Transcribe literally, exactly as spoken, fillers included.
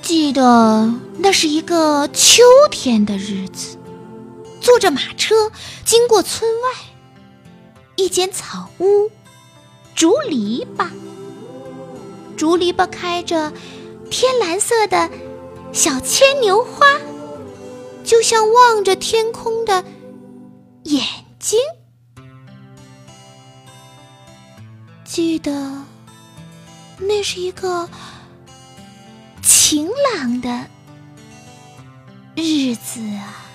记得那是一个秋天的日子，坐着马车经过村外，一间草屋，竹篱笆，竹篱笆开着天蓝色的小牵牛花，就像望着天空的眼睛。记得那是一个晴朗的日子啊。